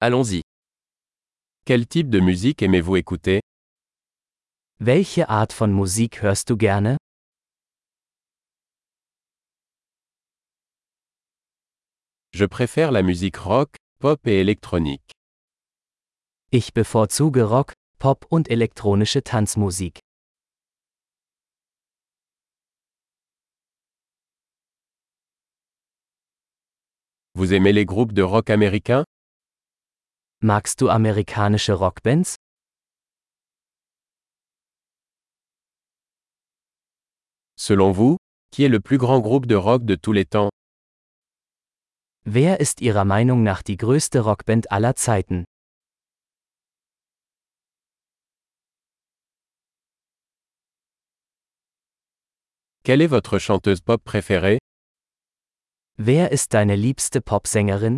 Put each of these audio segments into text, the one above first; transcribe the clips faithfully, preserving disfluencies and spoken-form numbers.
Allons-y. Quel type de musique aimez-vous écouter? Welche Art von Musik hörst du gerne? Je préfère la musique rock, pop et électronique. Ich bevorzuge Rock, Pop und elektronische Tanzmusik. Vous aimez les groupes de rock américains? Magst du amerikanische Rockbands? Selon vous, qui est le plus grand groupe de rock de tous les temps? Wer ist Ihrer Meinung nach die größte Rockband aller Zeiten? Quelle est votre chanteuse pop préférée? Wer ist deine liebste Popsängerin?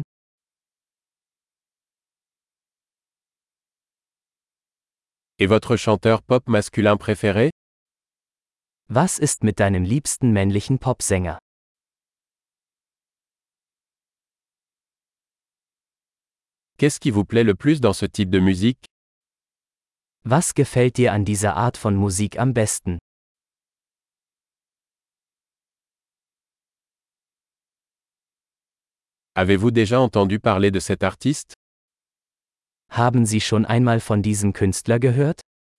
Et votre chanteur pop masculin préféré? Was ist mit deinem liebsten männlichen Popsänger? Qu'est-ce qui vous plaît le plus dans ce type de musique? Was gefällt dir an dieser Art von Musik am besten? Avez-vous déjà entendu parler de cet artiste? Haben Sie schon einmal von diesem Künstler gehört?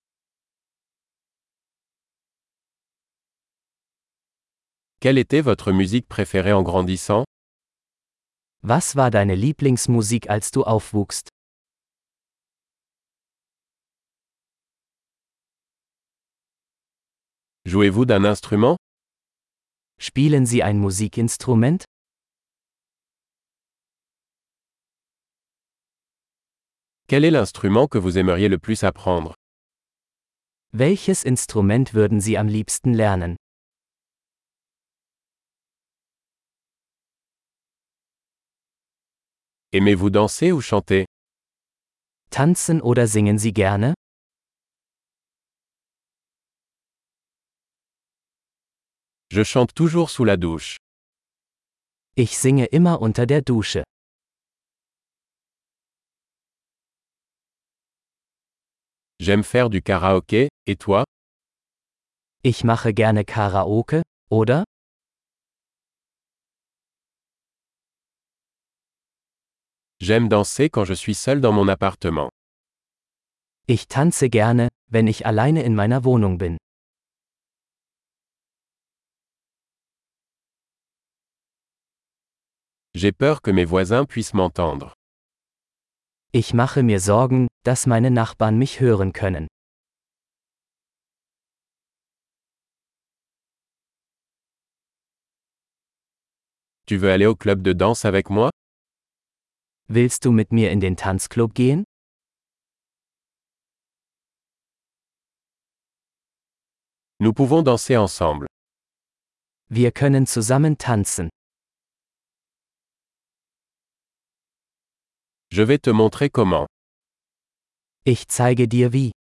Quelle était votre musique préférée en grandissant? Was war deine Lieblingsmusik, als du aufwuchst? Jouez-vous d'un instrument? Spielen Sie ein Musikinstrument? Quel est l'instrument que vous aimeriez le plus apprendre? Welches Instrument würden Sie am liebsten lernen? Aimez-vous danser ou chanter? Tanzen oder singen Sie gerne? Je chante toujours sous la douche. Ich singe immer unter der Dusche. J'aime faire du karaoké, et toi? Ich mache gerne Karaoke, oder? J'aime danser quand je suis seul dans mon appartement. Ich tanze gerne, wenn ich alleine in meiner Wohnung bin. J'ai peur que mes voisins puissent m'entendre. Ich mache mir Sorgen, dass meine Nachbarn mich hören können. Tu veux aller au club de danse avec moi? Willst du mit mir in den Tanzclub gehen? Nous pouvons danser ensemble. Wir können zusammen tanzen. Je vais te montrer comment. Ich zeige dir wie.